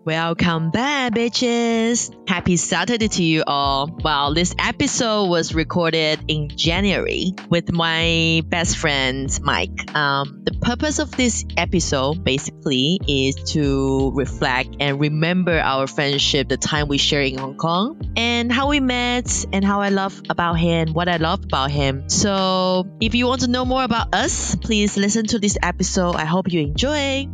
Welcome back, bitches! Happy Saturday to you all. Well, this episode was recorded in January with my best friend, Mike. The purpose of this episode basically is to reflect and remember our friendship, the time we shared in Hong Kong, and how we met, and how I love about him, what I love about him. So, if you want to know more about us, please listen to this episode. I hope you enjoy.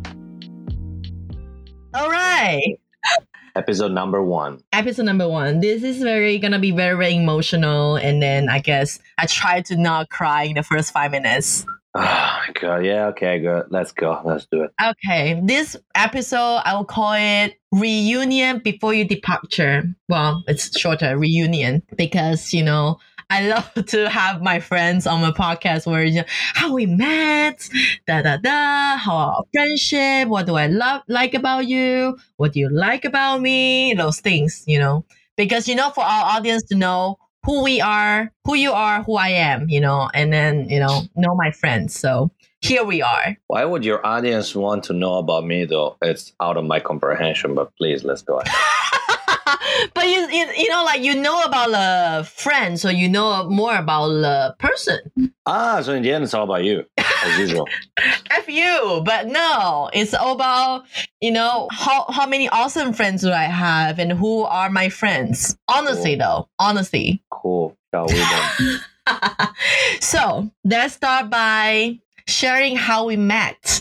All right. Episode number 1. Episode number 1. This is gonna be very emotional, and then I guess I try to not cry in the first 5 minutes. Oh my god, yeah, okay, good. Let's go. Let's do it. Okay, this episode I will call it Reunion Before Your Departure. Well, it's shorter, reunion, because I love to have my friends on my podcast where how we met, how our friendship, what do I like about you, what do you like about me, those things, because for our audience to know who we are, who you are, who I am, and then know my friends. So here we are. Why would your audience want to know about me though? It's out of my comprehension, but please, let's go ahead. But you know about the friend, so you know more about the person. So in the end, it's all about you, as usual. F you, but no, it's all about how many awesome friends do I have and who are my friends. Honestly, though, honestly. Cool. Shall we then? So let's start by sharing how we met.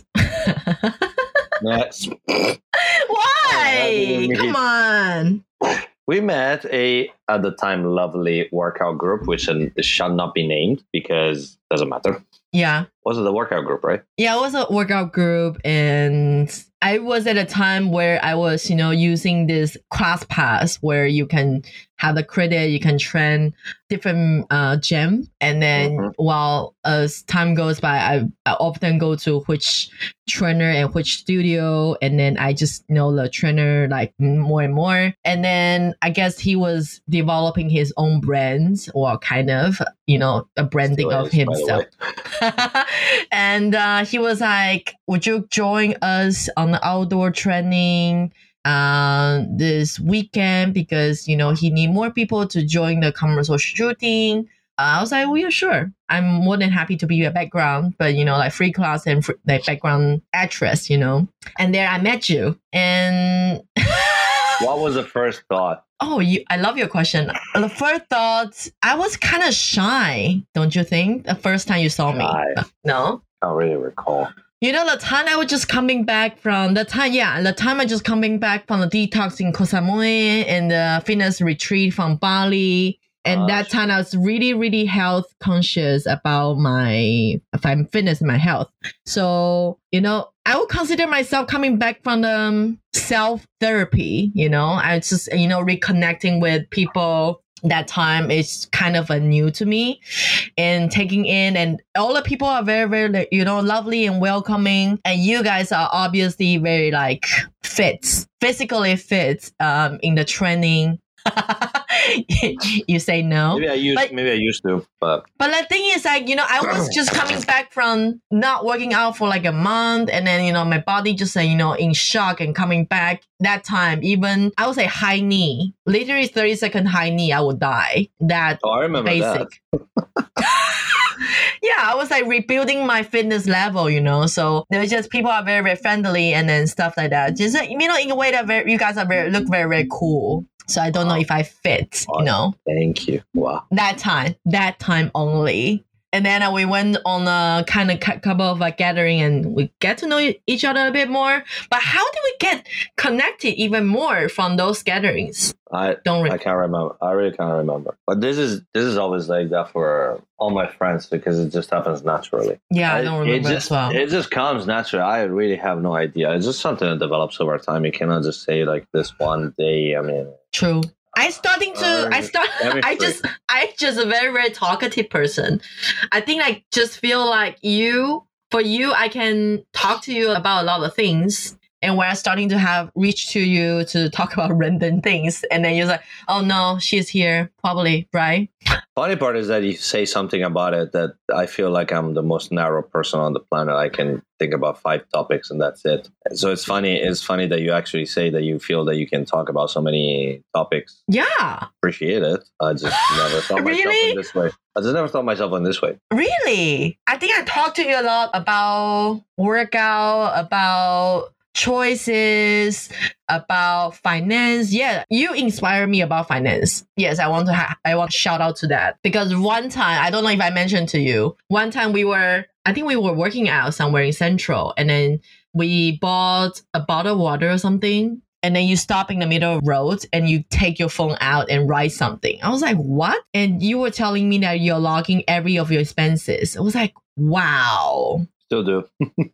Yes. Why? Come on. We met at the time, lovely workout group, which shall not be named because it doesn't matter. Yeah. Was it the workout group, right? Yeah, it was a workout group, and I was at a time where I was, using this class pass where you can have the credit, you can train different gym, and then while as time goes by, I often go to which trainer and which studio, and then I just know the trainer like more and more, and then I guess he was developing his own brands or kind of, a branding of himself. And he was like, would you join us on the outdoor training this weekend, because he need more people to join the commercial shooting. I was like, well, yeah, sure, I'm more than happy to be a background, but like free class and like background actress, and there I met you. And what was the first thought? Oh, I love your question. The first thought, I was kind of shy, don't you think? The first time you saw me. No? I don't really recall. The time I was just coming back from the time I just coming back from the detox in Koh Samui and the fitness retreat from Bali. And that time I was really, really health conscious about my fitness and my health. So, I would consider myself coming back from the self-therapy, I just, reconnecting with people. That time is kind of new to me, and taking in, and all the people are very, very, lovely and welcoming. And you guys are obviously very physically fit, in the training. You say no. Maybe I used to, but the thing is, I was just coming back from not working out for like a month, and then my body just in shock, and coming back that time, even I would say high knee, literally 30-second high knee, I would die. I remember basic. That. Yeah, I was like rebuilding my fitness level, so there's just people are very, very friendly, and then stuff like that. Just in a way that you guys are look very, very cool. So I don't know if I fit, Thank you. Wow. That time only. And then we went on a kind of couple of gathering, and we get to know each other a bit more. But how did we get connected even more from those gatherings? I can't remember. I really can't remember. But this is always like that for all my friends, because it just happens naturally. Yeah, I don't remember as well. It just comes naturally. I really have no idea. It's just something that develops over time. You cannot just say like this one day. I mean, true. I just a very, very talkative person. I think I just feel like for you, I can talk to you about a lot of things. And we're starting to have reach to you to talk about random things. And then you're like, oh no, she's here, probably, right? Funny part is that you say something about it that I feel like I'm the most narrow person on the planet. I can think about 5 topics and that's it. So it's funny. It's funny that you actually say that you feel that you can talk about so many topics. Yeah. Appreciate it. I just never thought myself in this way. I just never thought myself in this way. Really? I think I talked to you a lot about workout, about choices, about finance. Yeah, you inspire me about finance. Yes, I want to shout out to that, because one time, I don't know if I mentioned to you, one time I think we were working out somewhere in Central, and then we bought a bottle of water or something. And then you stop in the middle of the road and you take your phone out and write something. I was like, what? And you were telling me that you're logging every of your expenses. I was like, wow. Still do.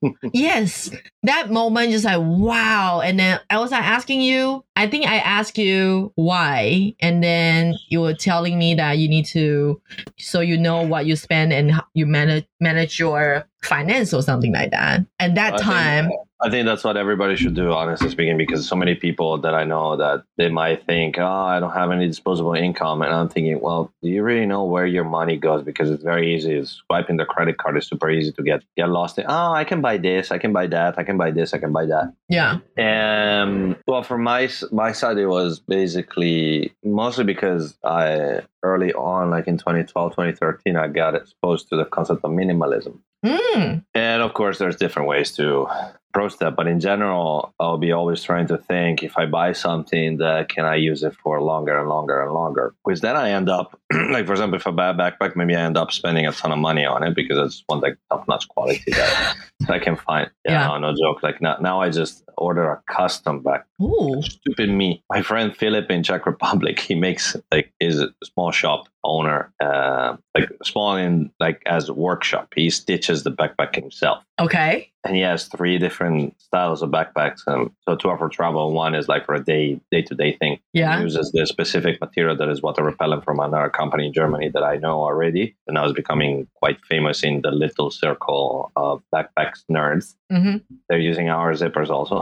Yes. That moment just like, wow. And then I was like asking you, I think I asked you why. And then you were telling me that you need to, so you know what you spend and how you manage your finance or something like that. And that time. I think that's what everybody should do, honestly speaking, because so many people that I know that they might think, oh, I don't have any disposable income. And I'm thinking, well, do you really know where your money goes? Because it's very easy. Swiping the credit card is super easy to get lost in. Oh, I can buy this. I can buy that. I can buy this. I can buy that. Yeah. And well, from my side, it was basically mostly because I early on, like in 2012, 2013, I got exposed to the concept of minimalism. And of course, there's different ways to approach that. But in general, I'll be always trying to think, if I buy something, that can I use it for longer and longer and longer? Because then I end up, like, for example, if I buy a backpack, maybe I end up spending a ton of money on it because it's one like top-notch quality that I can find. Yeah. No joke. Like now I just order a custom backpack. Ooh. Stupid me. My friend Philip in Czech Republic, he makes like his small shop owner, like small in like as a workshop. He stitches the backpack himself. Okay. And he has 3 different styles of backpacks. So 2 are for travel. One is like for a day-to-day thing. Yeah. He uses the specific material that is water repellent from another company in Germany that I know already. And now is becoming quite famous in the little circle of backpacks nerds. Mm-hmm. They're using our zippers also.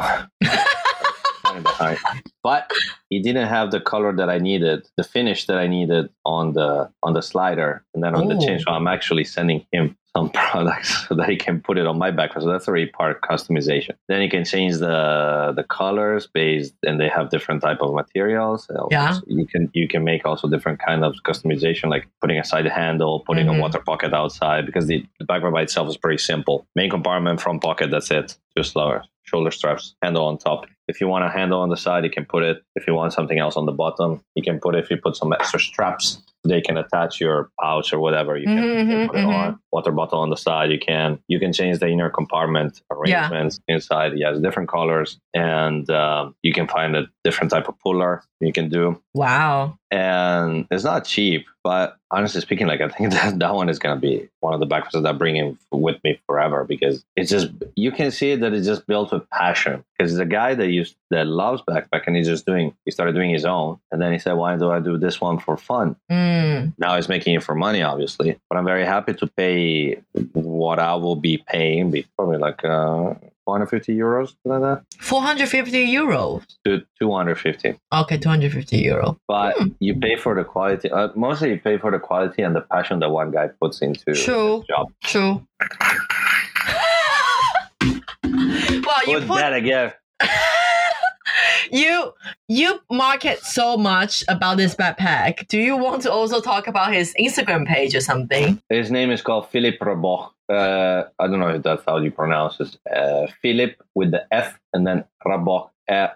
But he didn't have the color that I needed, the finish that I needed on the slider and then on the chain. So I'm actually sending him some products so that he can put it on my backpack. So that's already part customization. Then you can change the colors based, and they have different type of materials. Yeah. So you can make also different kind of customization, like putting a side handle, putting a water pocket outside, because the backpack by itself is pretty simple. Main compartment, front pocket, that's it. Just lower. Shoulder straps, handle on top. If you want a handle on the side, you can put it. If you want something else on the bottom, you can put it. If you put some extra straps, they can attach your pouch or whatever. You can put it on. Water bottle on the side. You can change the inner compartment arrangements inside. It has different colors, and you can find a different type of puller you can do. Wow. And it's not cheap, but honestly speaking, like I think that one is going to be one of the backpacks that I bring in with me forever, because it's just, you can see that it's just built with passion. Because the guy that loves backpack, and he started doing his own, and then he said, why do I do this one for fun? Now he's making it for money, obviously, but I'm very happy to pay what I will be paying, probably like 450 euros, like that. 450 euros. 250. Okay, 250 euro. But you pay for the quality. Mostly you pay for the quality and the passion that one guy puts into his job. True. Well, you put that again. You market so much about this backpack. Do you want to also talk about his Instagram page or something? His name is called Philippe Raboch. I don't know if that's how you pronounce it. Philip with the F and then Raboch.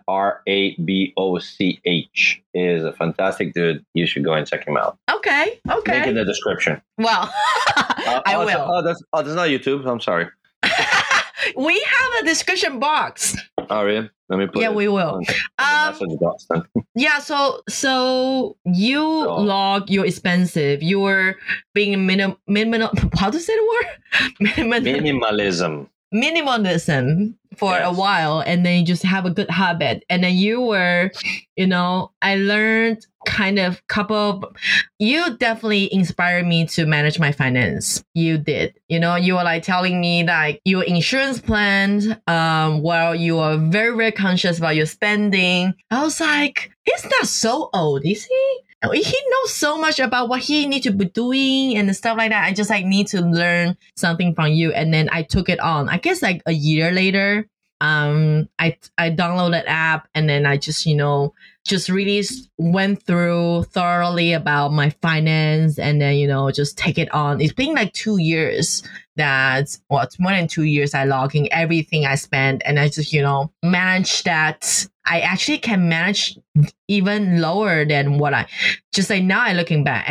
Raboch is a fantastic dude. You should go and check him out. Okay. Link in the description. Well, I will. That's not YouTube. I'm sorry. We have a description box. Oh, really? Let me put it. Yeah, we will. Yeah, so you log your expensive. You were being how to say the word? Minimalism for a while, and then you just have a good habit. And then you were, I learned kind of you definitely inspired me to manage my finance. You did. You were like telling me like your insurance plan, while you are very, very conscious about your spending. I was like, he's not so old, is he? He knows so much about what he needs to be doing and stuff like that. I just like need to learn something from you. And then I took it on. I guess like a year later, I downloaded app and then I just, just really went through thoroughly about my finance and then, just take it on. It's been like 2 years it's more than 2 years I logging everything I spend and I just, manage that. I actually can manage even lower than what I just say now. Looking back,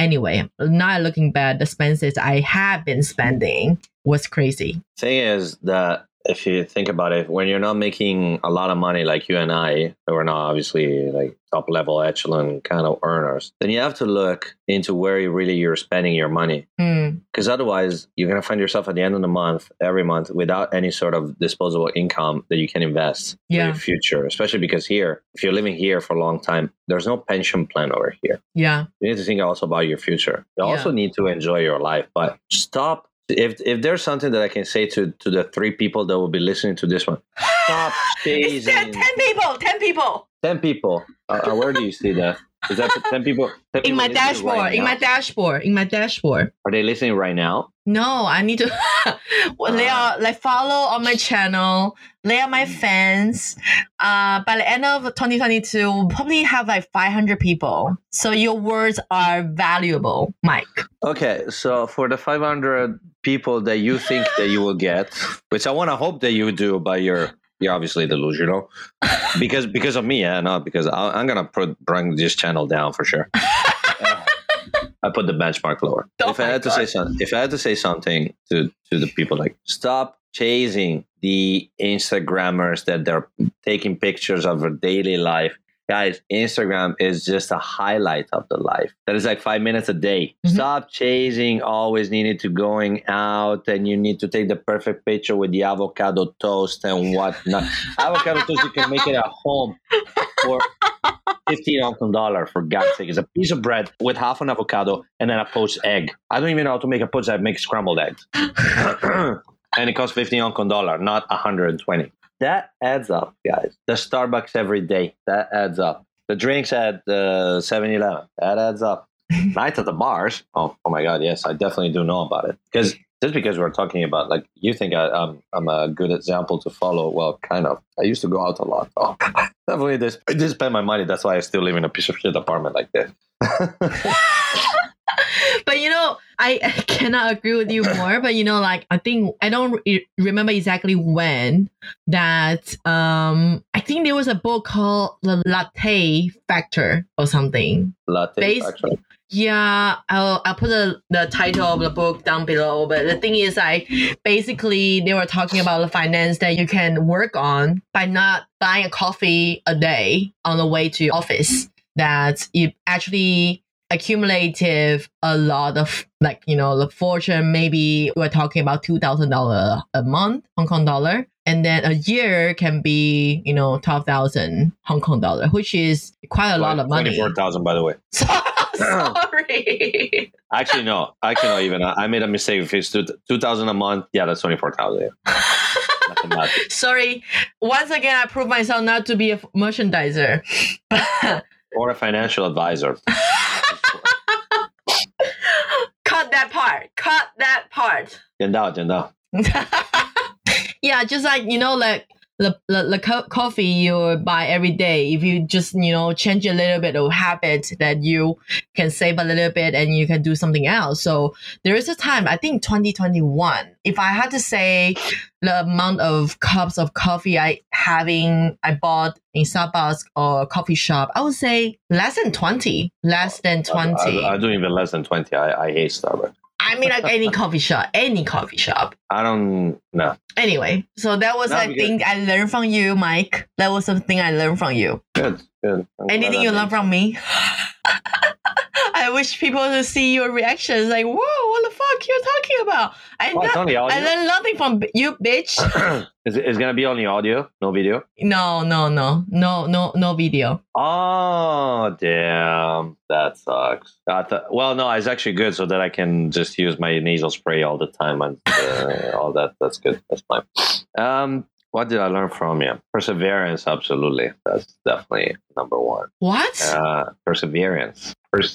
the expenses I have been spending was crazy. Thing is that if you think about it, when you're not making a lot of money like you and I, we're not obviously like top level echelon kind of earners, then you have to look into where you're spending your money. Because otherwise you're going to find yourself at the end of the month, every month, without any sort of disposable income that you can invest for your future. Especially because here, if you're living here for a long time, there's no pension plan over here. Yeah. You need to think also about your future. You also need to enjoy your life, but stop. If there's something that I can say to the 3 people that will be listening to this one, stop chasing. It said 10 people. 10 people. Where do you see that? Is that 10 people? 10 in people my dashboard. Right in my dashboard. Are they listening right now? No, I need to. They are like follow on my channel. They are my fans. By the end of 2022, we'll probably have like 500 people. So your words are valuable, Mike. Okay, so for the 500 people that you think that you will get, which I want to hope that you do, but you're obviously delusional because of me, not because I'm gonna bring this channel down for sure. I put the benchmark lower. If I had to say something to the people, like stop chasing the Instagrammers that they're taking pictures of their daily life. Guys, Instagram is just a highlight of the life. That is like 5 minutes a day. Mm-hmm. Stop chasing, always needing to going out and you need to take the perfect picture with the avocado toast and whatnot. Avocado toast, you can make it at home for $15 Hong Kong dollar, for God's sake. It's a piece of bread with half an avocado and then a poached egg. I don't even know how to make a poached egg. I make scrambled eggs. And it costs $15 Hong Kong dollar, not 120. That adds up, guys. The Starbucks every day, that adds up. The drinks at the 7-Eleven, that adds up. Night at the bars, oh my God, yes, I definitely do know about it. Because we're talking about, like, you think I'm a good example to follow. Well, kind of. I used to go out a lot. Oh, definitely I did spend my money. That's why I still live in a piece of shit apartment like this. But I cannot agree with you more. But like I think I don't remember exactly when that. I think there was a book called The Latte Factor or something. Latte Factor. Yeah, I'll put the title of the book down below. But the thing is, basically they were talking about the finance that you can work on by not buying a coffee a day on the way to your office. That it actually accumulative a lot of the fortune. Maybe we're talking about $2,000 a month, Hong Kong dollar. And then a year can be, 12,000 Hong Kong dollar, which is quite a lot of money. 24,000, by the way. Sorry. Actually, no. Even. I made a mistake. If it's 2,000 a month, yeah, that's 24,000. Sorry. Once again, I proved myself not to be a merchandiser. Or a financial advisor. Cut that part. 剪到. Yeah, just like, the coffee you buy every day, if you just, change a little bit of habit, that you can save a little bit and you can do something else. So there is a time, I think 2021, if I had to say the amount of cups of coffee I bought in Starbucks or coffee shop, I would say less than 20. I do even less than 20. I hate Starbucks. I mean, like any coffee shop. I don't know. Anyway, so that was thing I learned from you, Mike. That was something I learned from you. Good. Good. Anything you learn from me? I wish people to see your reactions. Like, whoa, what the fuck you're talking about? It's only audio. I learned nothing from you, bitch. It's gonna be only audio, no video. No video. Oh damn, that sucks. Well, no, it's actually good, so that I can just use my nasal spray all the time and all that. That's good. That's fine. What did I learn from you? Perseverance, absolutely. That's definitely number one. What? Perseverance.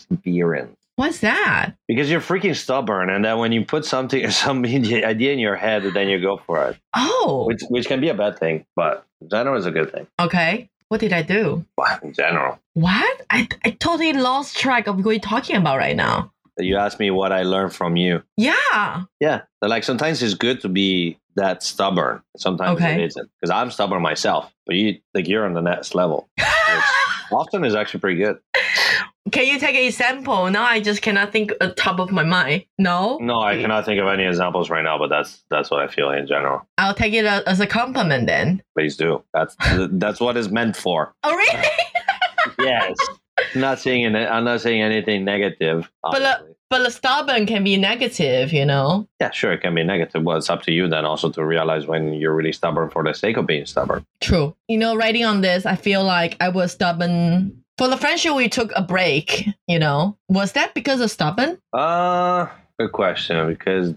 What's that? Because you're freaking stubborn, and then when you put some idea in your head, then you go for it. Oh. Which can be a bad thing, but in general is a good thing. Okay. What did I do? In general. What? I totally lost track of what you're talking about right now. You asked me what I learned from you. Yeah. Yeah. Like sometimes it's good to be that stubborn. Sometimes it isn't. Because I'm stubborn myself. But you're on the next level. Which often is actually pretty good. Can you take an example? Now I just cannot think at the top of my mind. No? No, I cannot think of any examples right now, but that's what I feel in general. I'll take it as a compliment then. Please do. That's what it's meant for. Oh, really? Yes. I'm not saying anything negative. But the stubborn can be negative, you know? Yeah, sure, it can be negative. Well, it's up to you then also to realize when you're really stubborn for the sake of being stubborn. True. You know, writing on this, I feel like I was stubborn. For the friendship, we took a break, you know? Was that because of stubborn? Good question. Because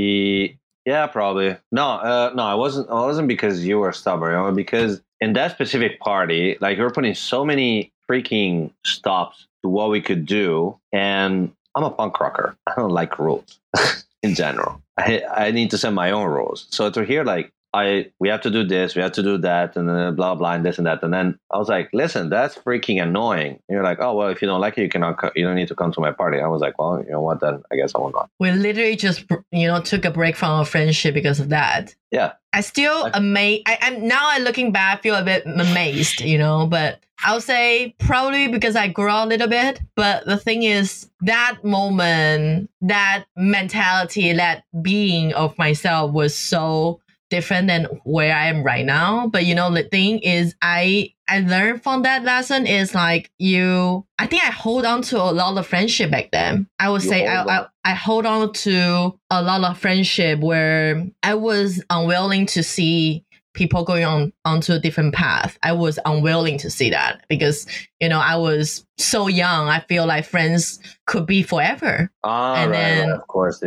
yeah, probably. No, it wasn't because you were stubborn. Because in that specific party, like, we were putting so many freaking stops to what we could do, and I'm a punk rocker. I don't like rules in general. I need to set my own rules. So to hear like, we have to do this, we have to do that, and then blah blah and this and that, and then I was like, listen, that's freaking annoying. And you're like, oh well, if you don't like it, you don't need to come to my party. I was like, well, you know what, then I guess I will not. We literally just took a break from our friendship because of that. Yeah. I still amazed. I'm now looking back, I feel a bit amazed, but I'll say probably because I grew up a little bit. But the thing is, that moment, that mentality, that being of myself was so different than where I am right now. But the thing is, I learned from that lesson is like I think I hold on to a lot of friendship back then. I would say I hold on to a lot of friendship where I was unwilling to see people going onto a different path. I was unwilling to see that because, I was so young. I feel like friends could be forever. And then, of course,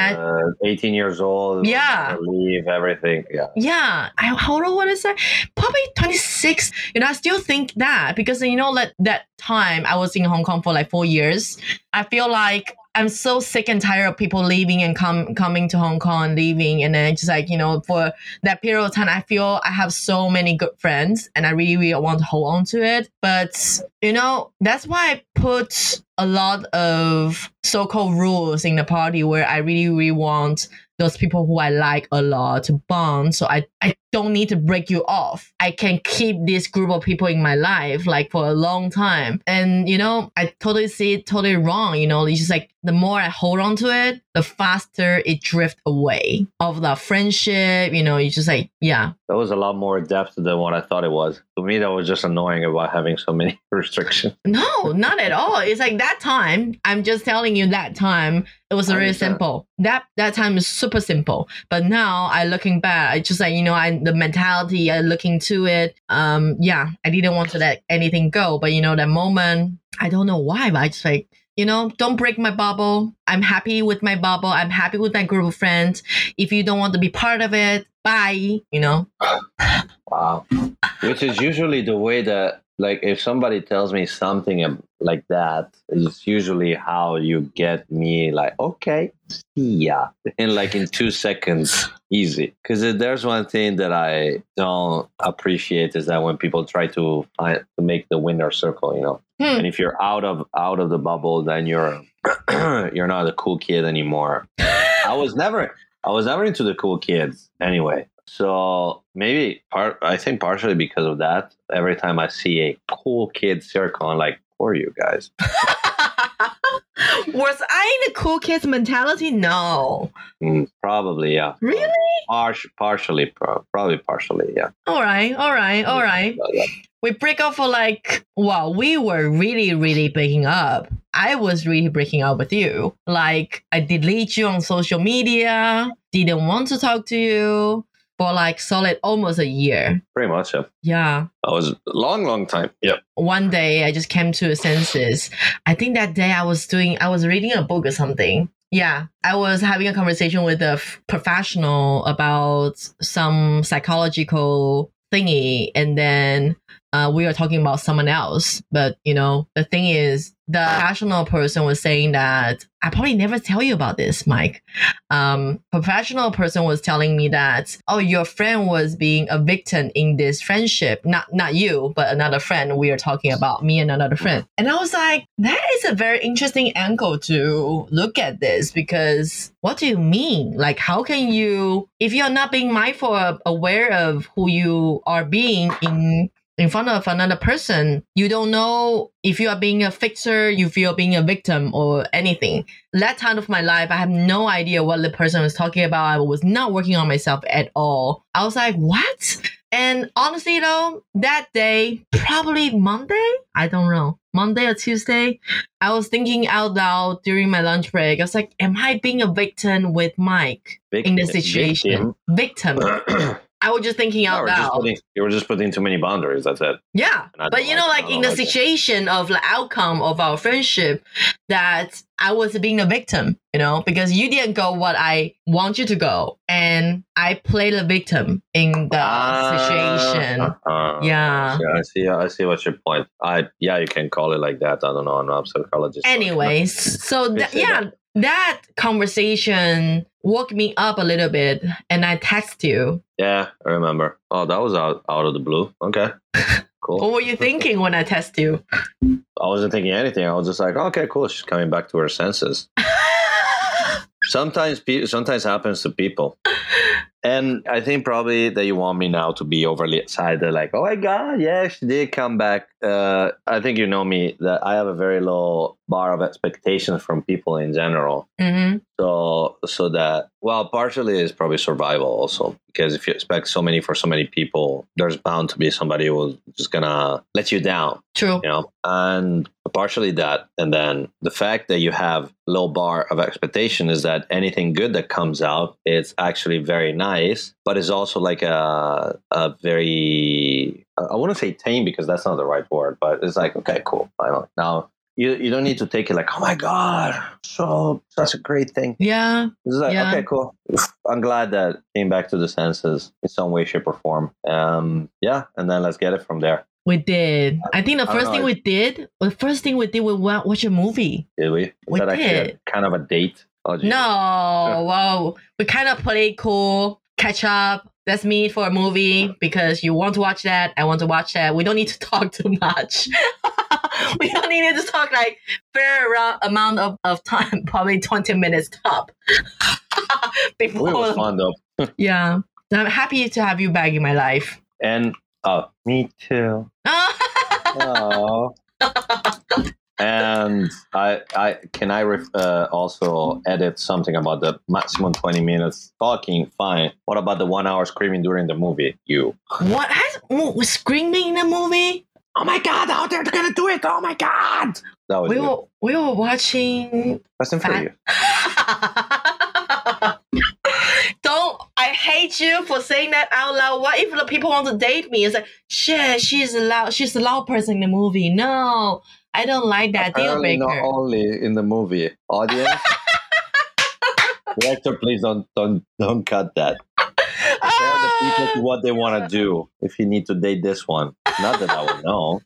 18 years old. Yeah. Leave everything. Yeah. Yeah. Hold on, what is that? Probably 26. I still think that because, that time I was in Hong Kong for like 4 years. I feel like I'm so sick and tired of people leaving and coming to Hong Kong and leaving. And then just like, for that period of time, I feel I have so many good friends and I really, really want to hold on to it. But, that's why I put a lot of so-called rules in the party where I really, really want those people who I like a lot to bond. So I don't need to break you off. I can keep this group of people in my life like for a long time. And, I totally see it totally wrong. It's just like the more I hold on to it, the faster it drifts away of the friendship. It's just like, yeah. That was a lot more depth than what I thought it was. To me, that was just annoying about having so many restrictions. No, not at all. It's like that time, I'm just telling you that time, it was really simple. That time is super simple. But now I looking back, I just like, the mentality, I looking to it. I didn't want to let anything go. But, that moment, I don't know why, but I just like, don't break my bubble. I'm happy with my bubble. I'm happy with my group of friends. If you don't want to be part of it, bye, Wow. Which is usually the way that, like, if somebody tells me something like that, it's usually how you get me like, okay, see ya. In 2 seconds, easy. Because there's one thing that I don't appreciate is that when people try to make the winner circle, and if you're out of the bubble, then you're not a cool kid anymore. I was never into the cool kids anyway. So maybe I think partially because of that, every time I see a cool kid circle, I'm like, who are you guys? Was I in the cool kids mentality? No. Probably, yeah. Really? Probably partially, yeah. All right. we break up for like, well, we were really, really breaking up. I was really breaking up with you. Like, I delete you on social media, didn't want to talk to you for like solid almost a year. Pretty much, yeah. Yeah. That was a long time. Yep. One day I just came to a senses. I think that day I was reading a book or something. Yeah, I was having a conversation with a professional about some psychological thingy, and then we were talking about someone else. But the thing is, the professional person was saying that I probably never tell you about this, Mike. Professional person was telling me that, oh, your friend was being a victim in this friendship. Not you, but another friend. We are talking about me and another friend. And I was like, that is a very interesting angle to look at this, because what do you mean? Like, how can you, if you're not being mindful of, aware of who you are being in front of another person, you don't know if you are being a fixer, you feel being a victim or anything. That time of my life, I have no idea what the person was talking about. I was not working on myself at all. I was like, what? And honestly though, that day, probably Monday, I don't know, Monday or Tuesday, I was thinking out loud during my lunch break. I was like, am I being a victim with Mike in this situation? Victim. I was just thinking out loud. You were just putting too many boundaries. That's it. Yeah. But like in the situation of the outcome of our friendship, that I was being a victim, because you didn't go what I want you to go. And I played a victim in the situation. Yeah. I see what's your point. You can call it like that. I don't know. I'm not a psychologist. Anyways, so that conversation woke me up a little bit, and I text you. Yeah, I remember. Oh, that was out of the blue. Okay, cool. What were you thinking when I text you? I wasn't thinking anything. I was just like, okay, cool. She's coming back to her senses. Sometimes happens to people. And I think probably that you want me now to be overly excited, like, oh my God, yeah, she did come back. I think you know me, that I have a very low bar of expectations from people in general. Mm-hmm. So that, well, partially is probably survival also, because if you expect for so many people, there's bound to be somebody who's just gonna let you down. True. And partially that, and then the fact that you have low bar of expectation is that anything good that comes out, it's actually very nice, but it's also like a very, I wouldn't say tame, because that's not the right word, but it's like, okay, cool, finally. Now, you don't need to take it like, oh my God, such a great thing. Yeah. It's like, okay, cool. I'm glad that came back to the senses in some way, shape, or form. And then let's get it from there. We did. I think the first thing we did, we watch a movie. Did we? We did. Kind of a date? Oh, no. Well, we kind of played cool, catch up. Let's meet for a movie because you want to watch that. I want to watch that. We don't need to talk too much. We don't need to talk like fair amount of time, probably 20 minutes top. Before. It was fun though. Yeah. I'm happy to have you back in my life. And me too. Oh. And I also edit something about the maximum 20 minutes talking. Fine. What about the 1 hour screaming during the movie? What? Was screaming in the movie? Oh my God! How they're gonna do it? Oh my God! That was we were watching Fast and Furious. I hate you for saying that out loud. What if the people want to date me? It's like, shit, she's a loud person in the movie. No, I don't like that. Apparently deal breaker. Not only in the movie. Audience, director, please don't cut that. Prepare the people to what they want to do if you need to date this one. Not that I would know.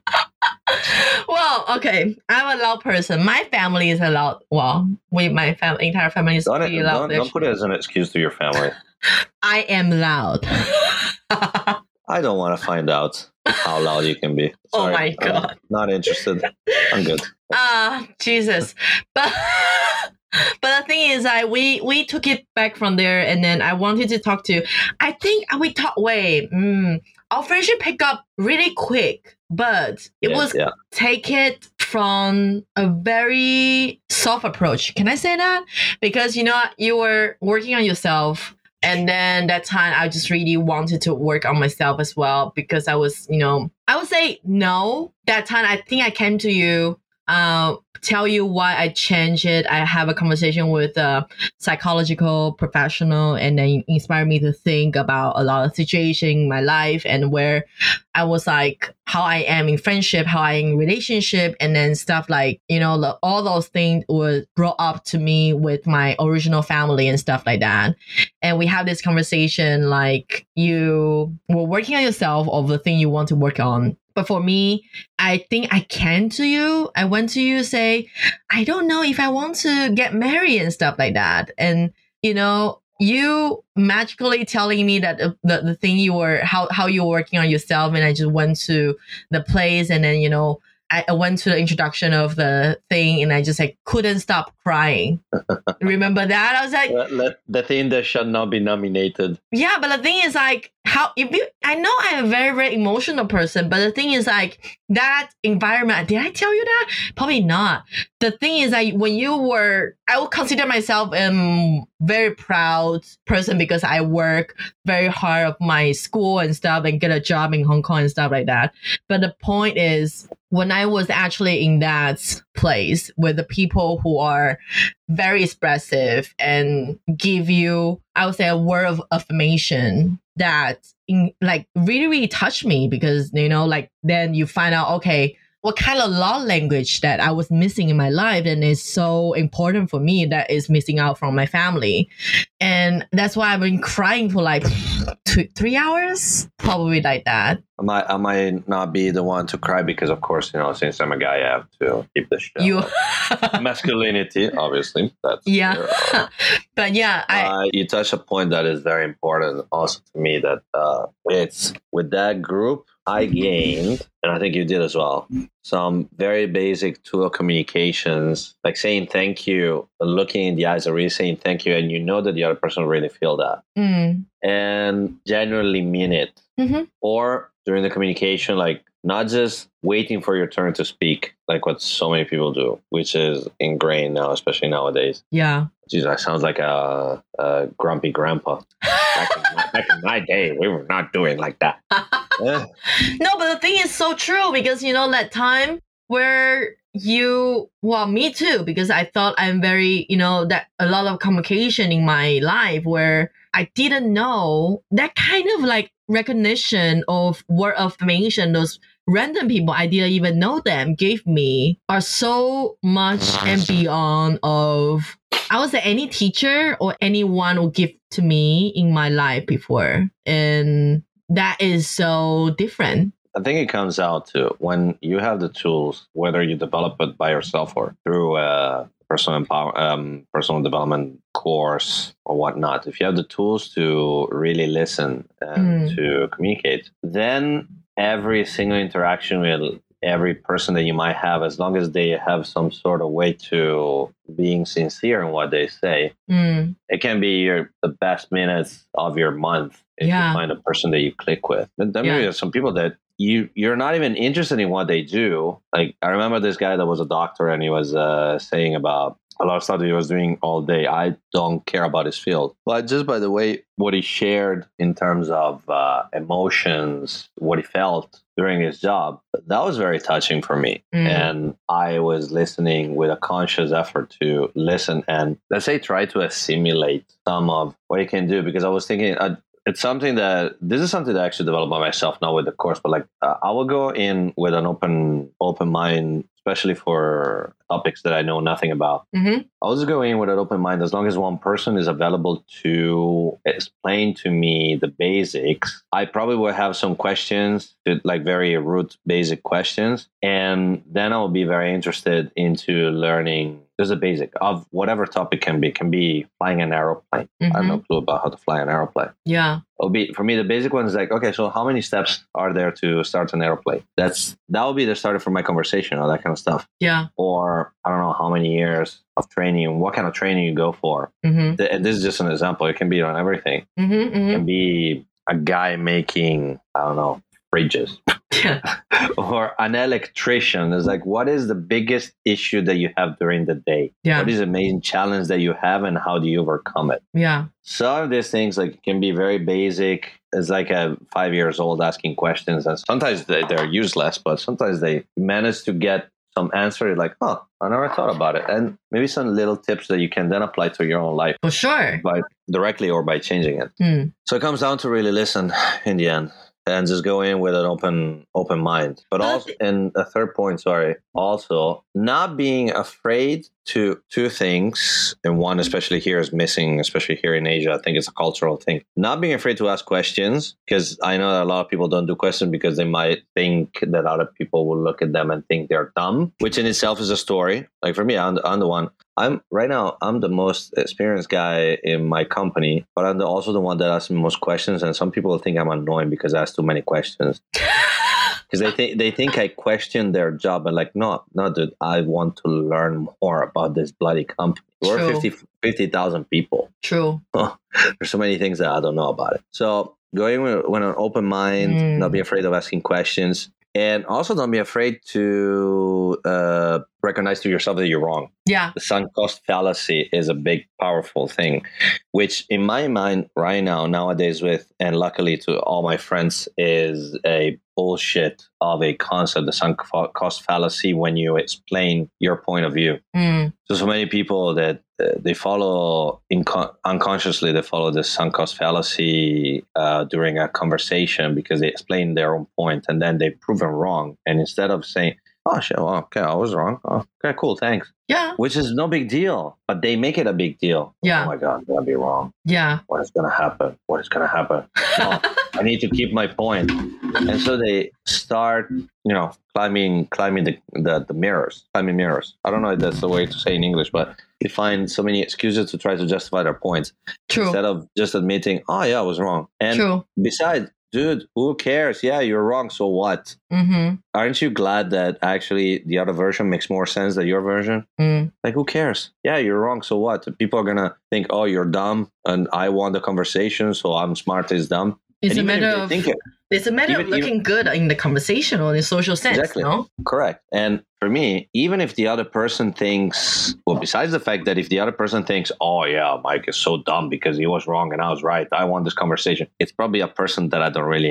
Well, okay. I'm a loud person. My family is a loud. Well, my entire family is pretty loud. Don't put it as an excuse to your family. I am loud. I don't want to find out how loud you can be. Sorry, oh my God. I'm not interested. I'm good. Jesus. But the thing is, we took it back from there, and then I wanted to talk to you. I think we talked our friendship picked up really quick, but it was take it from a very soft approach. Can I say that? Because you were working on yourself. And then that time I just really wanted to work on myself as well because I was, I would say no. That time I think I came to you, tell you why I changed it. I have a conversation with a psychological professional and then inspired me to think about a lot of situations in my life and where I was like, how I am in friendship, how I am in relationship, and then stuff like, all those things were brought up to me with my original family and stuff like that. And we have this conversation like you were working on yourself of the thing you want to work on. But for me, I think I came to you. I went to you say, I don't know if I want to get married and stuff like that. And, you magically telling me that the thing you were, how you were working on yourself. And I just went to the place and then, I went to the introduction of the thing and I just couldn't stop crying. Remember that? I was like, the thing that should not be nominated. Yeah, but the thing is like, I know I'm a very, very emotional person, but the thing is like that environment, did I tell you that? Probably not. The thing is like when I would consider myself a very proud person because I work very hard of my school and stuff and get a job in Hong Kong and stuff like that. But the point is, when I was actually in that place with the people who are very expressive and give you, I would say, a word of affirmation that really, really touched me because, then you find out, okay, what kind of love language that I was missing in my life and is so important for me that is missing out from my family. And that's why I've been crying for 3 hours, probably like that. I might not be the one to cry because, of course, since I'm a guy, I have to keep the show. Masculinity, obviously. That's But yeah, you touch a point that is very important also to me that it's with that group, I gained, and I think you did as well, some very basic tool communications, like saying thank you, looking in the eyes and really saying thank you, and that the other person will really feel that. And genuinely mean it. Mm-hmm. Or during the communication, not just waiting for your turn to speak, like what so many people do, which is ingrained now, especially nowadays. Yeah. Jeez, that sounds like a grumpy grandpa. Back in my day, we were not doing like that. No, but the thing is so true because, that time where me too, because I thought I'm very, that a lot of communication in my life where I didn't know that kind of recognition of word of affirmation, those random people I didn't even know them gave me are so much and beyond of, I would say, any teacher or anyone will give to me in my life before. And that is so different. I think it comes out to when you have the tools, whether you develop it by yourself or through a personal development course or whatnot. If you have the tools to really listen and to communicate, then every single interaction with every person that you might have, as long as they have some sort of way to being sincere in what they say, it can be the best minutes of your month if you find a person that you click with. But then there are some people that you're not even interested in what they do. Like I remember this guy that was a doctor and he was saying about a lot of stuff that he was doing all day. I don't care about his field. But just by the way, what he shared in terms of emotions, what he felt during his job, that was very touching for me. And I was listening with a conscious effort to listen and, let's say, try to assimilate some of what he can do. Because I was thinking, this is something that I actually developed by myself, not with the course, but I will go in with an open mind, especially for topics that I know nothing about. I'll just go in with an open mind as long as one person is available to explain to me the basics. I probably will have some questions, very root basic questions, and then I'll be very interested into learning just the basic of whatever topic can be flying an aeroplane. I have no clue about how to fly an aeroplane. Yeah. It'll be, for me, the basic one is okay, so how many steps are there to start an airplane? That will be the starter for my conversation, all that kind of stuff. Yeah. Or I don't know how many years of training, what kind of training you go for. And this is just an example. It can be on everything. It can be a guy making, I don't know, fridges. or an electrician. It's like, what is the biggest issue that you have during the day? Yeah. What is the main challenge that you have, and how do you overcome it? Yeah. Some of these things like can be very basic. It's like a 5 years old asking questions, and sometimes they're useless, but sometimes they manage to get some answer. Like, oh, I never thought about it. And maybe some little tips that you can then apply to your own life. For sure. By directly or by changing it. So it comes down to really listen in the end. And just go in with an open mind. But also, and a third point, also not being afraid to two things. And one, especially here, is missing, especially here in Asia. I think it's a cultural thing. Not being afraid to ask questions, because I know that a lot of people don't do questions because they might think that other people will look at them and think they're dumb, which in itself is a story. Like for me, I'm the one. I'm the most experienced guy in my company, but I'm also the one that asks the most questions. And some people think I'm annoying because I ask too many questions. Because they think I question their job. And like, no, dude, I want to learn more about this bloody company. We're 50,000 people. True. There's so many things that I don't know about it. So going with an open mind, not be afraid of asking questions. And also don't be afraid to recognize to yourself that you're wrong. Yeah. The sunk cost fallacy is a big, powerful thing, which in my mind right now, nowadays and luckily to all my friends, is a bullshit of a concept, the sunk cost fallacy, when you explain your point of view. So many people that they follow unconsciously, they follow the sunk cost fallacy during a conversation because they explain their own point and then they prove them wrong. And instead of saying, oh, shit, well, okay, I was wrong. Oh, okay, cool, thanks. Yeah. Which is no big deal, but they make it a big deal. Yeah. Oh my God, I'm going to be wrong. Yeah. What is going to happen? What is going to happen? No, I need to keep my point. And so they start, climbing the mirrors, climbing mirrors. I don't know if that's the way to say in English, but they find so many excuses to try to justify their points. True. Instead of just admitting, oh yeah, I was wrong. And besides, dude, who cares? Yeah, you're wrong. So what? Aren't you glad that actually the other version makes more sense than your version? Like, who cares? Yeah, you're wrong. So what? People are going to think, oh, you're dumb and I won the conversation, so I'm smart is dumb. It's a matter of looking good in the conversation or in social sense, exactly. No? Correct. And for me, even if the other person thinks, well, besides the fact that if the other person thinks, oh yeah, Mike is so dumb because he was wrong and I was right, I won this conversation, it's probably a person that I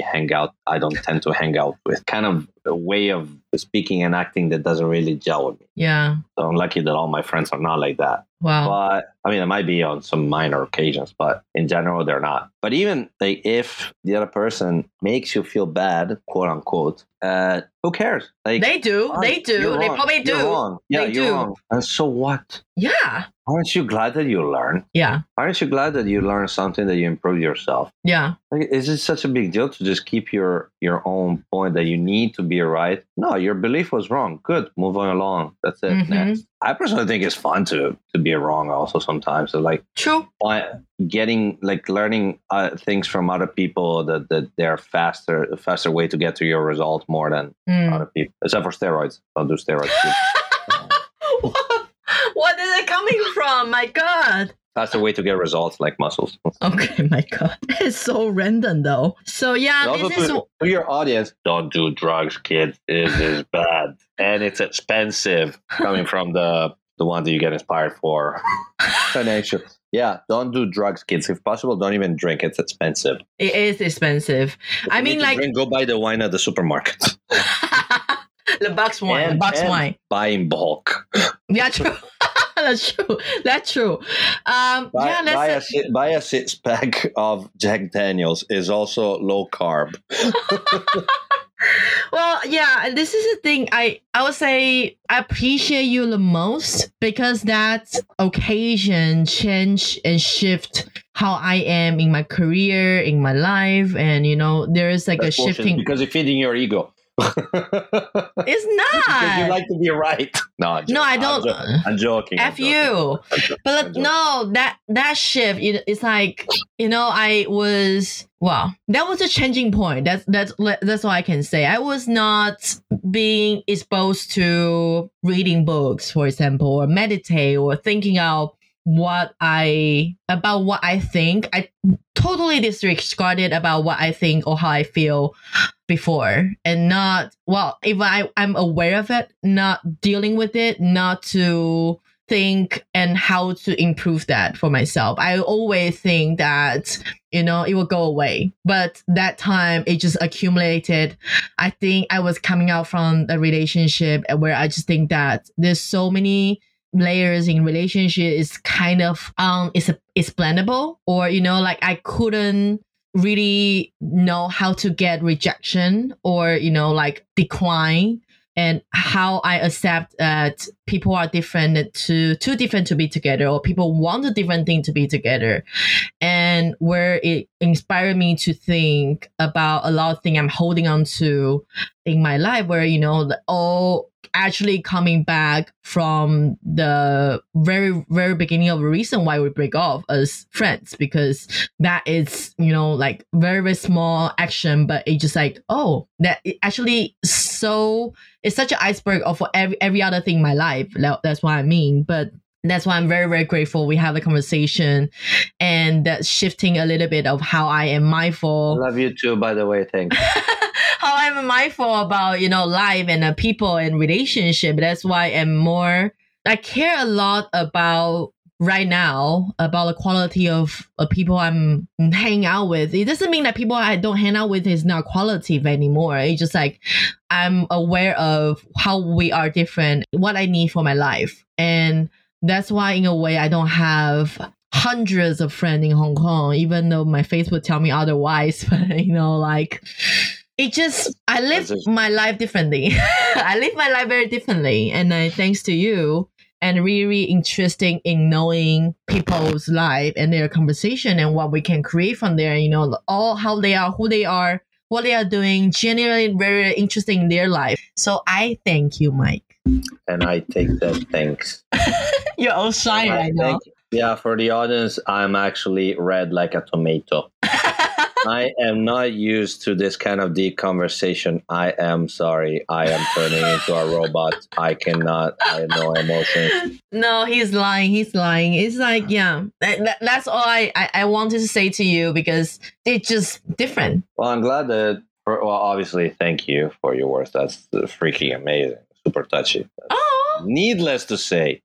don't tend to hang out with. Kind of a way of speaking and acting that doesn't really gel with me. Yeah. So I'm lucky that all my friends are not like that. Wow. But I mean, it might be on some minor occasions, but in general, they're not. But even like if the other person makes you feel bad, quote unquote, who cares? Like they do. They probably do. You're wrong. Yeah, you're wrong. And so what? Yeah. Aren't you glad that you learn? Yeah. Aren't you glad that you learn something, that you improve yourself? Yeah. Like, is it such a big deal to just keep your own point that you need to be right? No, your belief was wrong. Good. Move on along. That's it. Next. I personally think it's fun to be wrong also sometimes. So like, true. Learning things from other people that they're a faster way to get to your result more than other people. Except for steroids. Don't do steroids. What is it coming from? My God. That's the way to get results, like muscles. Okay, my God. It's so random, though. So, yeah. To your audience, don't do drugs, kids. It is bad. And it's expensive, coming from the one that you get inspired for. Financial. Yeah, don't do drugs, kids. If possible, don't even drink. It's expensive. It is expensive. I mean, go buy the wine at the supermarket. The box wine. Wine. Buy in bulk. Yeah, true. That's true. Buy a 6-pack of Jack Daniels. Is also low carb. Well, yeah, this is the thing. I would say I appreciate you the most because that occasion change and shift how I am in my career, in my life, and there is like that's a shifting because you're feeding your ego. It's not because you like to be right. No, I don't. I'm joking. F you. But no, that shift. It's like I was. Well, that was a changing point. That's all I can say. I was not being exposed to reading books, for example, or meditate or thinking out what I think. I totally disregarded about what I think or how I feel before, and not, well, if I'm aware of it, not dealing with it, not to think and how to improve that for myself. I always think that, it will go away. But that time it just accumulated. I think I was coming out from a relationship where I just think that there's so many layers in relationship. Is kind of it's blendable, or like I couldn't really know how to get rejection, or like decline, and how I accept that people are different, too different to be together, or people want a different thing to be together. And where it inspired me to think about a lot of things I'm holding on to in my life, where, all actually coming back from the very, very beginning of the reason why we break off as friends, because that is, like very, very small action, but it just like, oh, that it actually it's such an iceberg of every other thing in my life. That's what I mean. But that's why I'm very, very grateful we have the conversation, and that's shifting a little bit of how I am mindful. I love you too, by the way. Thanks. How I'm mindful about, life and people and relationship. That's why I care a lot about right now, about the quality of people I'm hanging out with. It doesn't mean that people I don't hang out with is not quality anymore. It's just like I'm aware of how we are different, what I need for my life. And that's why, in a way, I don't have hundreds of friends in Hong Kong, even though my face would tell me otherwise. But, like, it just, I live my life differently. I live my life very differently. And thanks to you, and really interesting in knowing people's life and their conversation and what we can create from there, all how they are, who they are, what they are doing, generally very interesting in their life. So I thank you, Mike. And I take that thanks. You're all shy right now. Yeah, for the audience, I'm actually red like a tomato. I am not used to this kind of deep conversation. I am sorry. I am turning into a robot. I have no emotions. No, he's lying. It's like, yeah, that's all I wanted to say to you, because it's just different. Well, I'm glad that, obviously, thank you for your words. That's freaking amazing. Super touchy. Oh. Needless to say,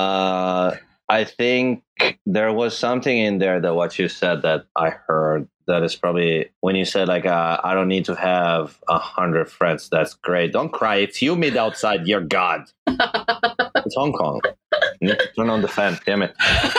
I think there was something in there that what you said that I heard that is probably when you said like, I don't need to have 100 friends. That's great. Don't cry. It's humid outside. You're God. It's Hong Kong. You need to turn on the fan. Damn it.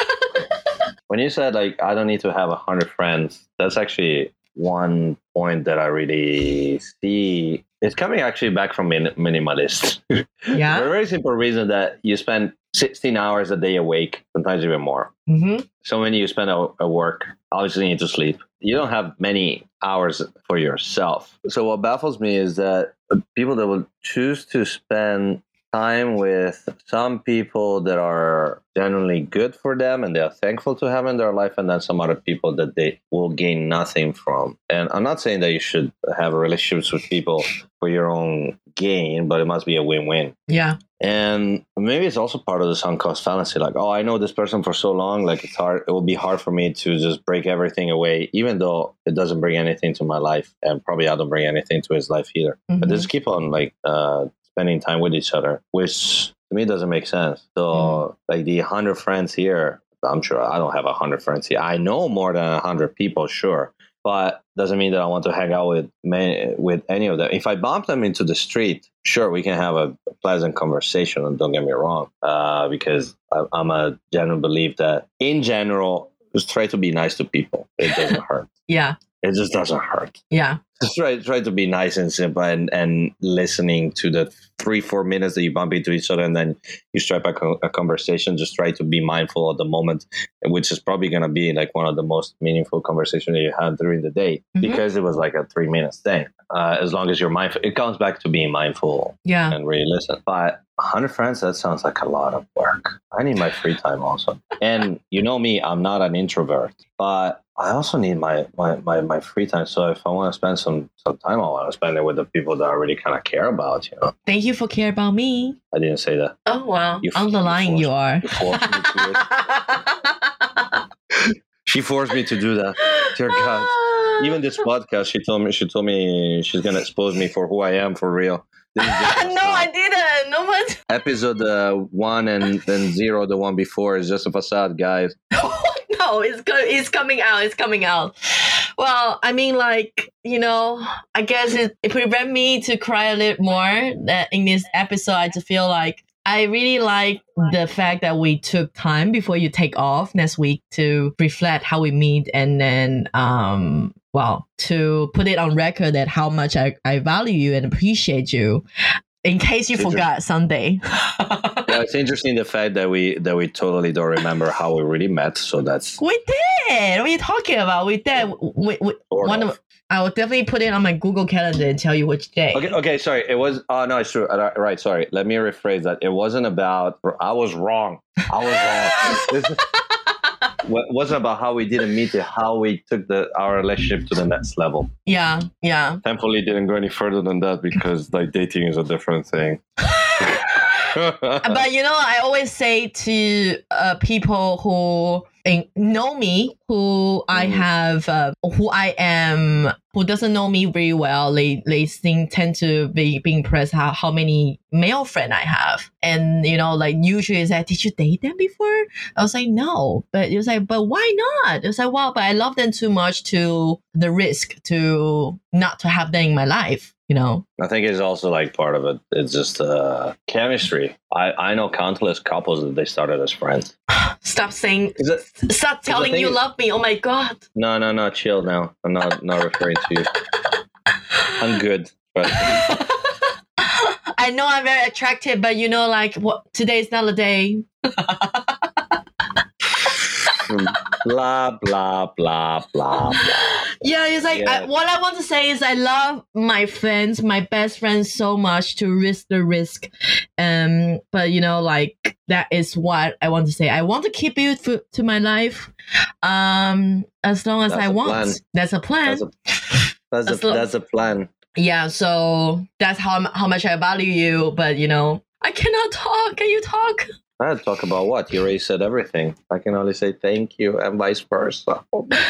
When you said like, I don't need to have 100 friends, that's actually one point that I really see. It's coming actually back from minimalist. Yeah. For a very simple reason that you spend 16 hours a day awake, sometimes even more. Mm-hmm. So when you spend at work, obviously you need to sleep. You don't have many hours for yourself. So what baffles me is that people that will choose to spend time with some people that are generally good for them and they are thankful to have in their life, and then some other people that they will gain nothing from. And I'm not saying that you should have relationships with people for your own gain, but it must be a win-win. Yeah. And maybe it's also part of the sunk cost fallacy. Like, oh, I know this person for so long, like it's hard. It will be hard for me to just break everything away, even though it doesn't bring anything to my life, and probably I don't bring anything to his life either. Mm-hmm. But just keep on like spending time with each other, which to me doesn't make sense. So like the 100 friends here, I'm sure I don't have 100 friends here. I know more than 100 people, sure. But doesn't mean that I want to hang out with any of them. If I bump them into the street, sure, we can have a pleasant conversation. And don't get me wrong, because I'm a general belief that in general, just try to be nice to people. It doesn't hurt. Yeah. It just doesn't hurt. Yeah. Just try to be nice and simple, and listening to the 3-4 minutes that you bump into each other and then you strike up a conversation. Just try to be mindful of the moment, which is probably going to be like one of the most meaningful conversations that you had during the day, because it was like a 3-minute thing. As long as you're mindful, it comes back to being mindful and really listen. But 100 friends, that sounds like a lot of work. I need my free time also. And you know me, I'm not an introvert, but I also need my free time. So if I want to spend some time, I want to spend it with the people that I really kind of care about. Thank you for care about me. I didn't say that. Oh wow, underlying you are. You forced me to it. She forced me to do that. Dear God. Even this podcast, she told me she's gonna expose me for who I am for real. No, I didn't. No one. Episode 1 and 0, the one before, is just a facade, guys. No, it's coming out. It's coming out. Well, I mean, like, I guess it prevent me to cry a little more. That in this episode, I just feel like I really like the fact that we took time before you take off next week to reflect how we meet, and then to put it on record that how much I value you and appreciate you. In case you forgot someday. Yeah, it's interesting the fact that we totally don't remember how we really met. So that's we did. What are you talking about? We did. I will definitely put it on my Google Calendar and tell you which day. Okay. Sorry, it was. Oh no, it's true. Right. Sorry. Let me rephrase that. It wasn't about. I was wrong. It wasn't about how we didn't meet it, how we took our relationship to the next level. Yeah. Thankfully, it didn't go any further than that because like dating is a different thing. But I always say to people who know me, who I have, who I am, who doesn't know me very well, they tend to be impressed how many male friends I have. And, like usually it's like, did you date them before? I was like, no. But it was like, but why not? It was like, well, but I love them too much to the risk to not to have them in my life. I think it's also like part of it. It's just chemistry. I know countless couples that they started as friends. Stop telling you love me. Oh my God. No, chill now. I'm not referring to you. I'm good. But I know I'm very attractive, but today is not the day. Blah, blah, blah, blah, blah. Yeah, it's like, what I want to say is I love my friends, my best friends so much to risk the risk. But, that is what I want to say. I want to keep you to my life as long as I want. That's a plan. That's a plan. Yeah, so that's how much I value you. But, I cannot talk. Can you talk? I talk about what? You already said everything. I can only say thank you and vice versa. Oh my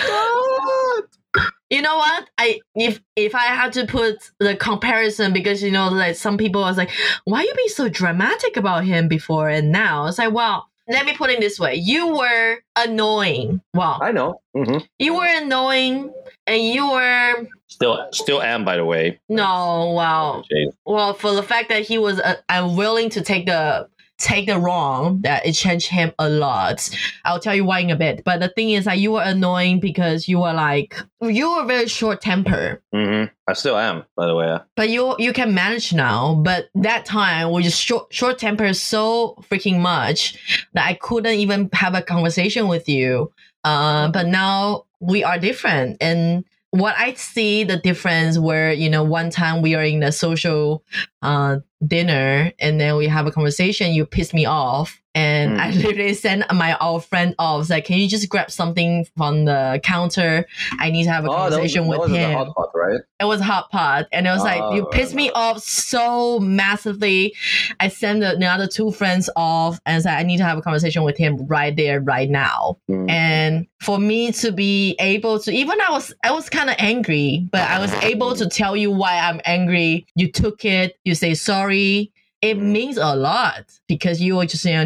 God. You know what? If I had to put the comparison, because like some people was like, why you being so dramatic about him before and now? It's like, well, let me put it this way. You were annoying. Well, I know. Mm-hmm. You were annoying, and you were still am, by the way. No, wow. Well, for the fact that he was unwilling to take the wrong, that it changed him a lot. I'll tell you why in a bit. But the thing is that you were annoying because you were very short temper. Mm-hmm. I still am, by the way. But you can manage now. But that time we just short temper so freaking much that I couldn't even have a conversation with you. But now we are different. And what I see the difference where, one time we are in a social dinner and then we have a conversation, you piss me off. And I literally sent my old friend off. It's like, can you just grab something from the counter? I need to have a conversation with him. That was a hot pot, right? It was a hot pot. And it was like, you pissed me off so massively. I sent the other two friends off and said, I need to have a conversation with him right there, right now. And for me to be able to, even I was kind of angry, but I was able to tell you why I'm angry. You took it. You say sorry. It means a lot because you were just,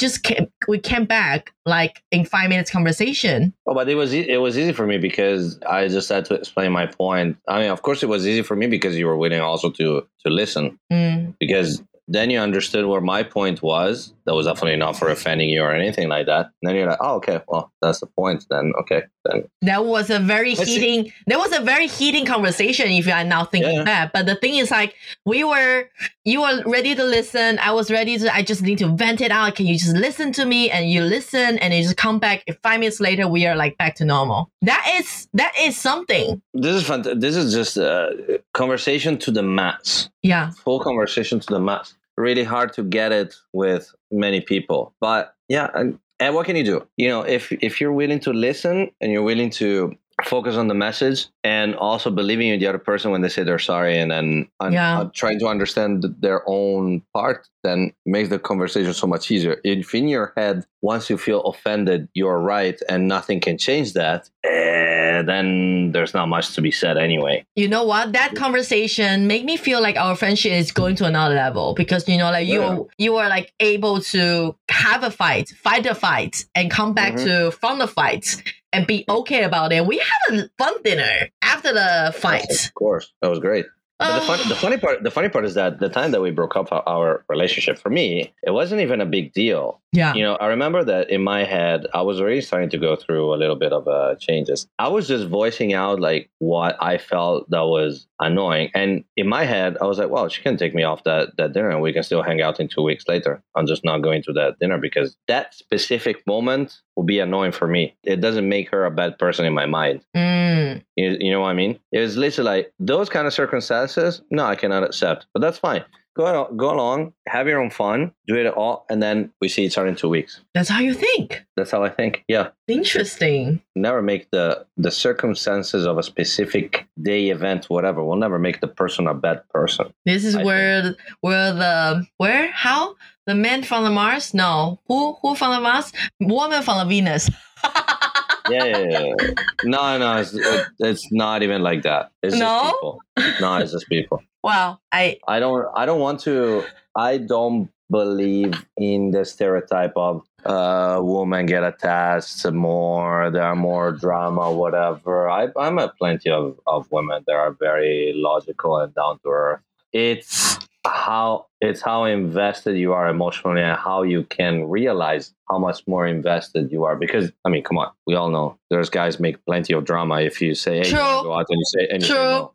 we came back like in 5 minutes conversation. Oh, but it was easy for me because I just had to explain my point. I mean, of course, it was easy for me because you were willing also to listen because then you understood where my point was. That was definitely not for offending you or anything like that. And then you're like, oh, okay, well, that's the point. Then okay, then that was a very heating conversation. If you are now thinking that, but the thing is, like, you were ready to listen. I was ready to. I just need to vent it out. Can you just listen to me? And you listen, and you just come back. 5 minutes later, we are like back to normal. That is something. This is fun. This is just a conversation to the max. Yeah, full conversation to the max. Really hard to get it with many people, but yeah, And what can you do? If you're willing to listen and you're willing to focus on the message and also believing in the other person when they say they're sorry, and then trying to understand their own part, then it makes the conversation so much easier. If in your head, once you feel offended, you're right and nothing can change that, then there's not much to be said anyway. You know what? That conversation made me feel like our friendship is going to another level, because you are like able to have a fight the fight, and come back from the fight and be okay about it. We had a fun dinner after the fight. Of course, that was great. But the funny part is that the time that we broke up our relationship, for me, it wasn't even a big deal. Yeah. I remember that in my head, I was already starting to go through a little bit of changes. I was just voicing out like what I felt that was annoying. And in my head, I was like, well, she can take me off that dinner and we can still hang out in 2 weeks later. I'm just not going to that dinner because that specific moment will be annoying for me. It doesn't make her a bad person in my mind. You know what I mean? It was literally like those kind of circumstances. No, I cannot accept, but that's fine. Go along, have your own fun, do it all, and then we see each other in 2 weeks. That's how you think. That's how I think. Yeah. Interesting. Never make the circumstances of a specific day, event, whatever, will never make the person a bad person. This is how the man from the Mars? No, who from the Mars? Woman from the Venus. Yeah. No, it's not even like that. It's just people. No, it's just people. Wow. I don't believe in the stereotype of women get attached more, there are more drama, whatever. I met plenty of women that are very logical and down to earth. It's how invested you are emotionally and how you can realize how much more invested you are. Because, I mean, come on, we all know there's guys make plenty of drama if you say, hey, you wanna go out, and you say anything.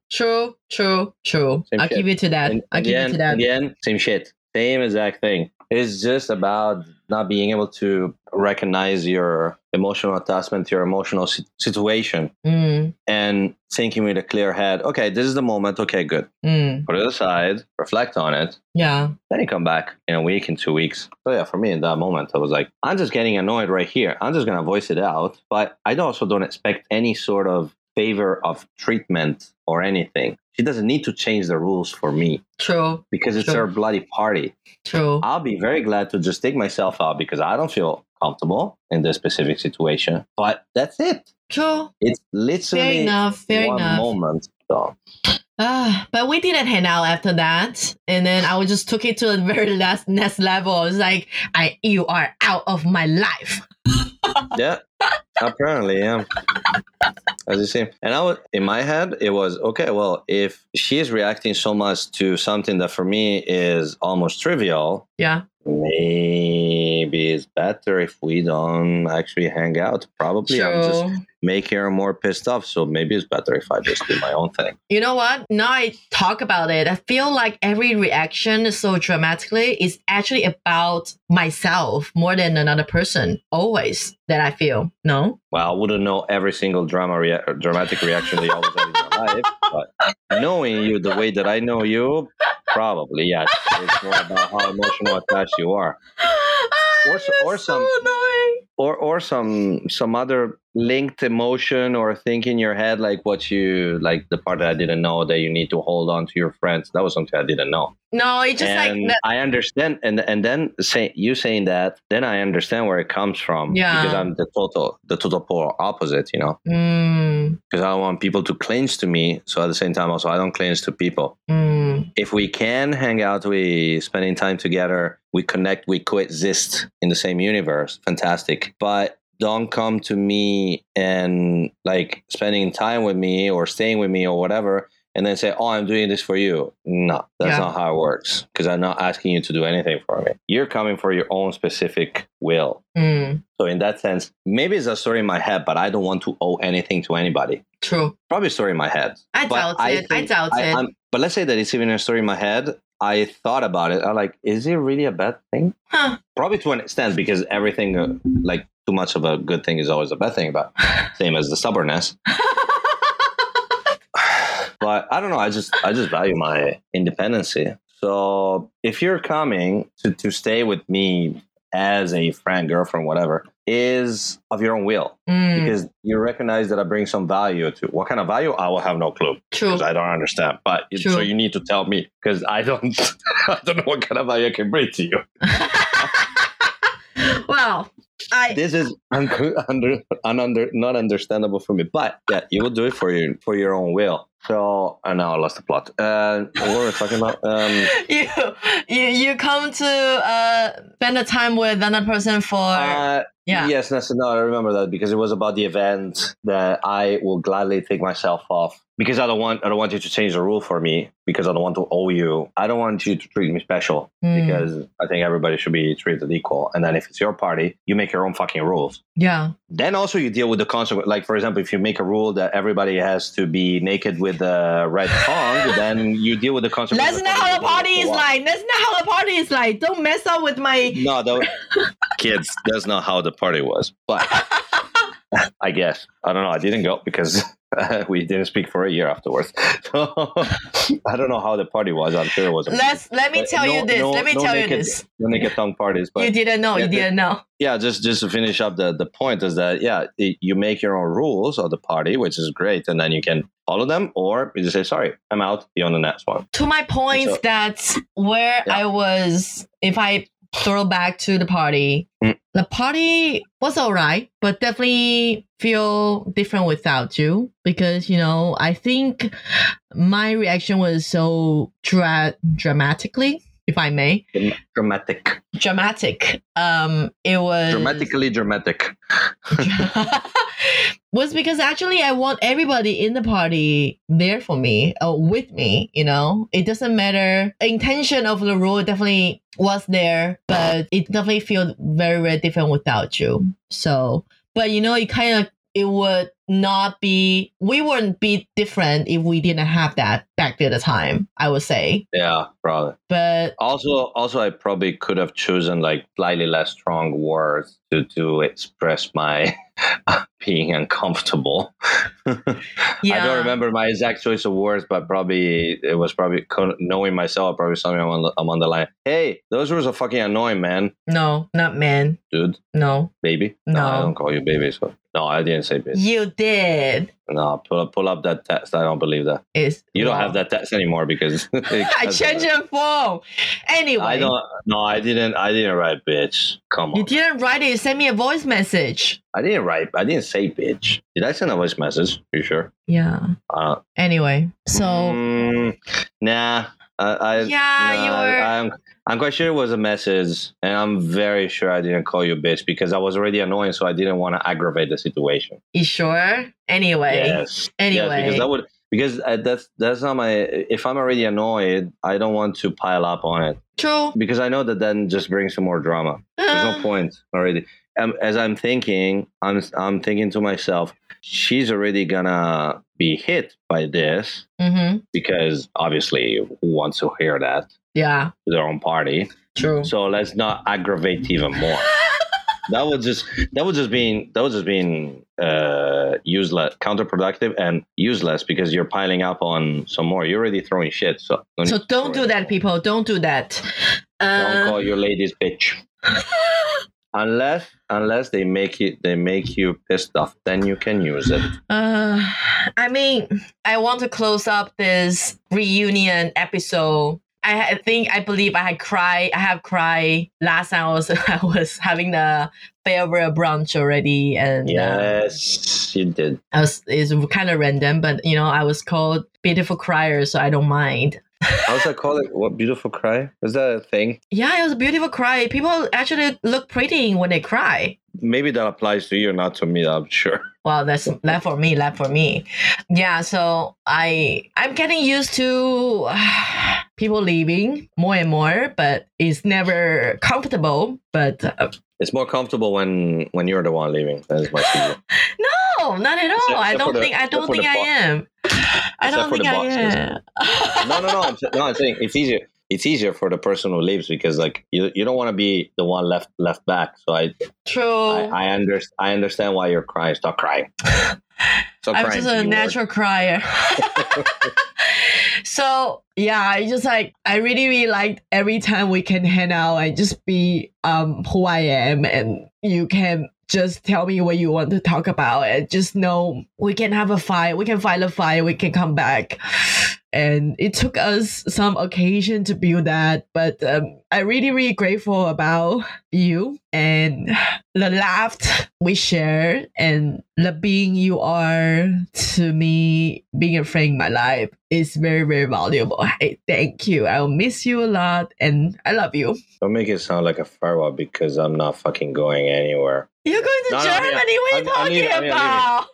True. I'll give you to that. In the end, same shit. Same exact thing. It's just about not being able to recognize your emotional attachment to your emotional situation and thinking with a clear head, okay, this is the moment. Okay, good. Put it aside, reflect on it. Yeah. Then you come back in a week, in 2 weeks. So yeah, for me in that moment, I was like, I'm just getting annoyed right here. I'm just going to voice it out. But I also don't expect any sort of favor of treatment or anything. She doesn't need to change the rules for me. True. Because it's her bloody party. True. I'll be very glad to just take myself out because I don't feel comfortable in this specific situation. But that's it. True. It's literally fair enough. Moment. So. But we didn't hang out after that. And then I just took it to the very next level. It's like, you are out of my life. Yeah. Apparently, yeah. As you see. And in my head, it was, okay, well, if she is reacting so much to something that for me is almost trivial, yeah, maybe it's better if we don't actually hang out. Probably I'm just making her more pissed off. So maybe it's better if I just do my own thing. You know what? Now I talk about it, I feel like every reaction so dramatically is actually about myself more than another person. Always that I feel. No? Well, I wouldn't know every single dramatic reaction that you always have in your life. But knowing you the way that I know you, probably, yes. It's more about how emotional attached you are. Or some other linked emotion or thing in your head, like the part that I didn't know that you need to hold on to your friends. That was something I didn't know. No, it's just I understand, and then saying that, then I understand where it comes from. Yeah. Because I'm the total polar opposite, you know. Because I don't want people to cling to me. So at the same time, also I don't cling to people. If we can hang out, we spending time together, we connect, we coexist in the same universe. Fantastic. But don't come to me and like spending time with me or staying with me or whatever, and then say, oh, I'm doing this for you. No, that's not how it works. Because I'm not asking you to do anything for me. You're coming for your own specific will. So in that sense, maybe it's a story in my head, but I don't want to owe anything to anybody. True. Probably a story in my head. I doubt it. But let's say that it's even a story in my head. I thought about it. I'm like, is it really a bad thing? Probably to an extent, because everything, like too much of a good thing is always a bad thing. But same as the stubbornness. But I don't know. I just value my independency. So if you're coming to stay with me as a friend, girlfriend, whatever, is of your own will. Because you recognize that I bring some value to what kind of value I will have no clue. True. Because I don't understand. But so you need to tell me because I don't I don't know what kind of value I can bring to you. Well, this is not understandable for me, but yeah, you will do it for your own will. So now I lost the plot. What were we talking about? You come to spend a time with another person for Yes, no, I remember that because it was about the event that I will gladly take myself off because I don't want you to change the rule for me because I don't want to owe you. I don't want you to treat me special because I think everybody should be treated equal. And then if it's your party, you make your own fucking rules. Yeah. Then also you deal with the consequence. Like for example, if you make a rule that everybody has to be naked with a red tongue, then you deal with the consequences. That's not how the party is like. That's not how the party is like. Don't mess up with my. No, kids. That's not how the party was. But I guess I don't know. I didn't go because we didn't speak for a year afterwards. So I don't know how the party was. I'm sure it was. Let me tell you this. No naked tongue parties. But you didn't know. You didn't know. Yeah, just to finish up the point is that you make your own rules of the party, which is great, and then you can follow them, or you just say sorry, I'm out. Be on the next one. To my point, so, that's where I was. If I throw back to the party. The party was all right, but definitely feel different without you because, I think my reaction was so dramatically, if I may. Dramatic. It was... Dramatically dramatic. was because actually I want everybody in the party there for me, with me, It doesn't matter. Intention of the rule definitely was there, but it definitely feels very, very different without you. So, but it would not be, we wouldn't be different if we didn't have that back at the time, I would say. Yeah, probably. But also I probably could have chosen like slightly less strong words to express my being uncomfortable. Yeah. I don't remember my exact choice of words, but it was knowing myself, probably something I'm on the line. Hey, those words are fucking annoying, man. No, not man. Dude. No. Baby? No. I don't call you baby. So. No, I didn't say bitch. You did. No, pull up that text. I don't believe that. You don't have that text anymore because I changed your phone. Anyway, I didn't write bitch. Come on. You didn't write it. You sent me a voice message. I didn't say bitch. Did I send a voice message? Are you sure? Yeah. Anyway, so nah. I'm quite sure it was a message, and I'm very sure I didn't call you bitch because I was already annoying, so I didn't want to aggravate the situation. You sure? Anyway. Yes. Anyway. Yes, because that's not my. If I'm already annoyed, I don't want to pile up on it. True. Because I know that then just brings some more drama. There's no point already. As I'm thinking, I'm thinking to myself, she's already gonna be hit by this because obviously who wants to hear that? Yeah. To their own party. True. So let's not aggravate even more. That was just being useless, counterproductive, and useless because you're piling up on some more. You're already throwing shit. So don't do that, people. Don't do that. Don't call your ladies bitch. Unless they make you pissed off, then you can use it. I mean, I want to close up this reunion episode. I believe I have cried last time I was having the farewell brunch already, and yes, you did. It's kind of random, but I was called beautiful crier, so I don't mind. How's that called? What, beautiful cry? Is that a thing? Yeah, it was a beautiful cry. People actually look pretty when they cry. Maybe that applies to you, not to me. I'm sure. Well, that's that for me. Yeah, so I'm getting used to people leaving more and more, but it's never comfortable. But it's more comfortable when you're the one leaving. That is my feeling. No, not at all. I don't think I am. I don't think I am. No. I'm saying it's easier. It's easier for the person who leaves because like you don't want to be the one left back. So I understand why you're crying. Stop crying. I'm just a natural crier. So yeah, I really liked every time we can hang out and just be who I am, and you can just tell me what you want to talk about, and just know we can have a fight. We can fight a fight. We can come back. And it took us some occasion to build that, but I'm really, really grateful about you and the laugh we share and the being you are to me. Being a friend in my life is very, very valuable. I thank you. I'll miss you a lot, and I love you. Don't make it sound like a farewell, because I'm not fucking going anywhere. You're going to Germany? What are you talking about?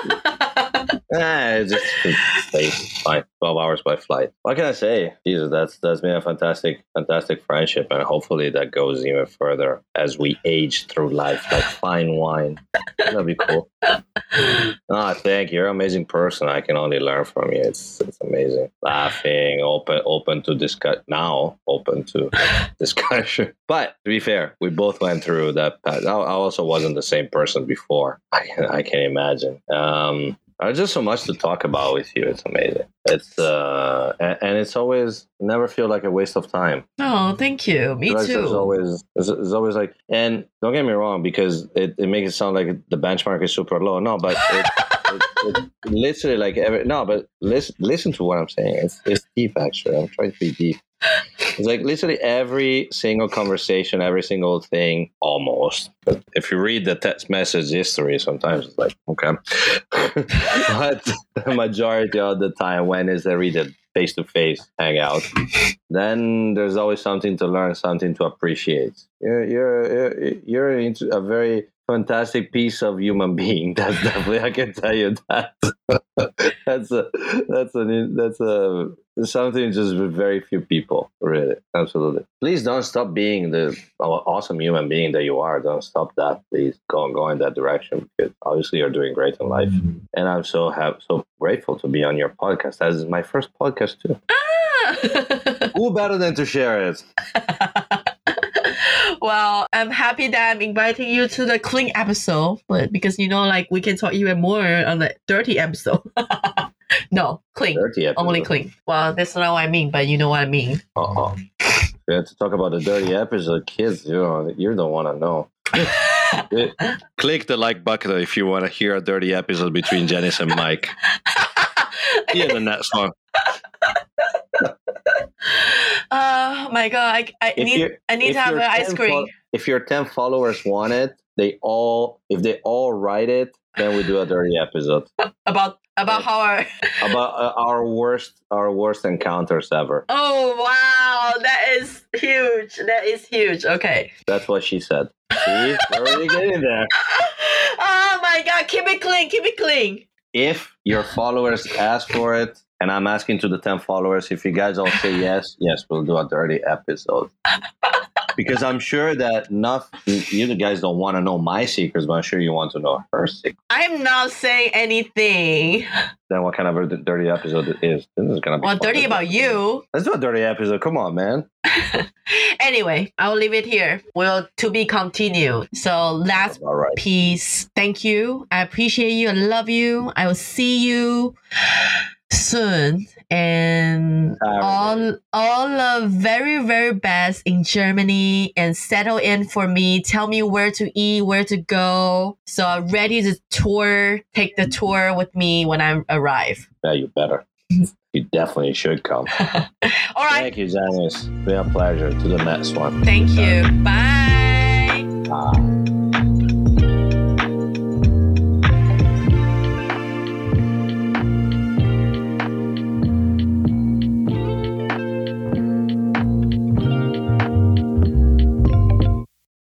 It's just fine. 12 hours by flight. What can I say? Jesus, that's been a fantastic friendship, and hopefully that goes even further as we age through life like fine wine. That'd be cool. Thank you. You're an amazing person. I can only learn from you. It's amazing. Laughing, open to discuss now, open to discussion. But to be fair, we both went through that path. I also wasn't the same person before. I can imagine. There's just so much to talk about with you. It's amazing. It's and it's always never feel like a waste of time. Oh, thank you. Me too. It's always like, and don't get me wrong, because it makes it sound like the benchmark is super low. No, but it literally like but listen to what I'm saying. It's deep, actually. I'm trying to be deep. It's like literally every single conversation, every single thing, almost. But if you read the text message history, sometimes it's like, okay. But the majority of the time, when is there read it face-to-face hangout, then there's always something to learn, something to appreciate. You're into a very fantastic piece of human being. That's definitely, I can tell you that. that's something just with very few people, really. Absolutely. Please don't stop being the awesome human being that you are. Don't stop that. Please go in that direction, because obviously you're doing great in life. Mm-hmm. And I'm so grateful to be on your podcast. That is my first podcast too. Who better than to share it? Well, I'm happy that I'm inviting you to the clean episode, but because we can talk even more on the dirty episode. No, clean. Dirty episode. Only clean. Well, that's not what I mean, but you know what I mean. We have to talk about the dirty episode, kids. You don't want to know. Click the like button if you want to hear a dirty episode between Janice and Mike. See you in the next one. Oh my god! I need to have an ice cream. If your 10 followers want it, if they all write it, then we do a dirty episode about how our worst encounters ever. Oh wow, that is huge. Okay, that's what she said. See, we're already getting there. Oh my god, keep it clean. If your followers ask for it, and I'm asking to the 10 followers, if you guys all say yes, we'll do a dirty episode. Because I'm sure that you guys don't want to know my secrets, but I'm sure you want to know her secrets. I'm not saying anything. Then what kind of a dirty episode it is? This is going to be fun, dirty about you. Let's do a dirty episode. Come on, man. Anyway, I'll leave it here. To be continued. So last piece. Thank you. I appreciate you. I love you. I will see you soon, and all the very, very best in Germany, and settle in for me. Tell me where to eat, where to go. So I'm ready to take the tour with me when I arrive. Yeah, you better. You definitely should come. All right. Thank you, Janice. It's been a pleasure. To the next one. Thank you. Bye.